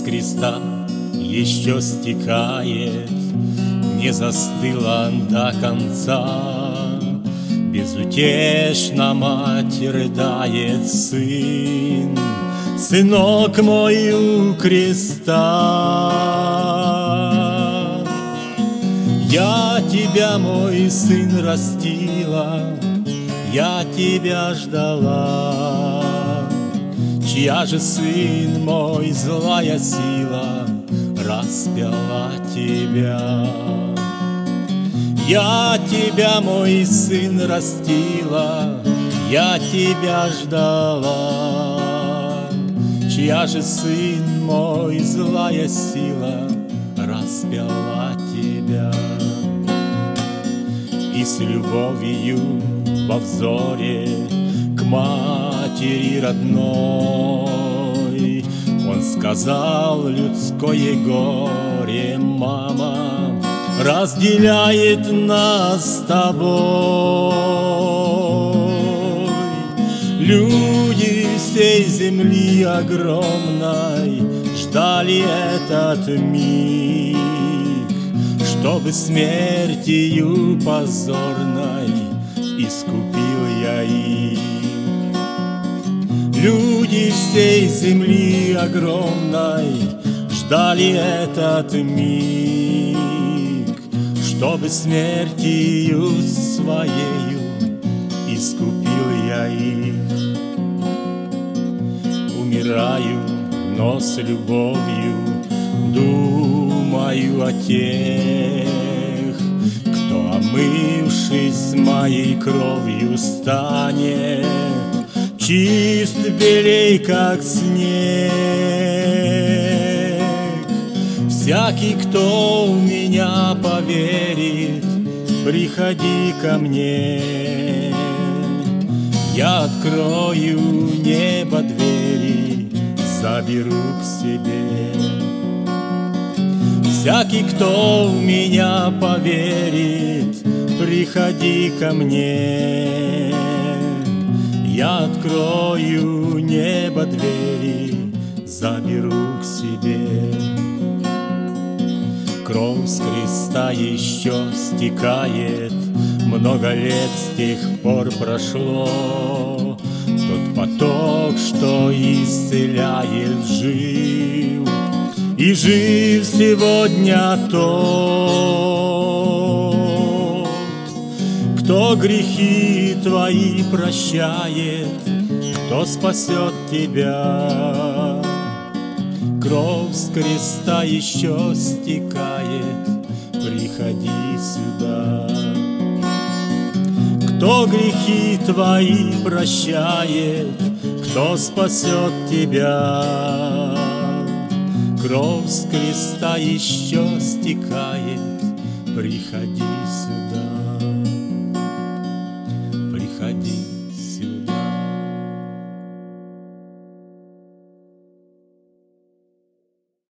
с креста еще стекает, не застыла до конца. Безутешно мать рыдает: сын, сынок мой у креста. Я тебя, мой сын, растила, я тебя ждала. Чья же, сын мой, злая сила распяла тебя? Я тебя, мой сын, растила, я тебя ждала. Чья же, сын мой, злая сила распяла тебя? И с любовью во взоре к матери родной он сказал: людское горе, мама, разделяет нас с тобой. Люди всей земли огромной ждали этот миг, чтобы смертью позорной искупил я их. Люди всей земли огромной ждали этот миг, чтобы смертью своею искупил я их. Умираю, но с любовью думаю о тех, кто, омывшись моей кровью, станет чист белей, как снег. Всякий, кто в меня поверит, приходи ко мне. Я открою небо двери, заберу к себе. Всякий, кто в меня поверит, приходи ко мне. Я открою небо двери, заберу к себе. Кровь с креста еще стекает, много лет с тех пор прошло. Тот поток, что исцеляет, жив, и жив сегодня тот, кто грехи твои прощает, кто спасет тебя. Кровь с креста еще стекает, приходи сюда. Кто грехи твои прощает, кто спасет тебя. Кровь с креста еще стекает, приходи сюда.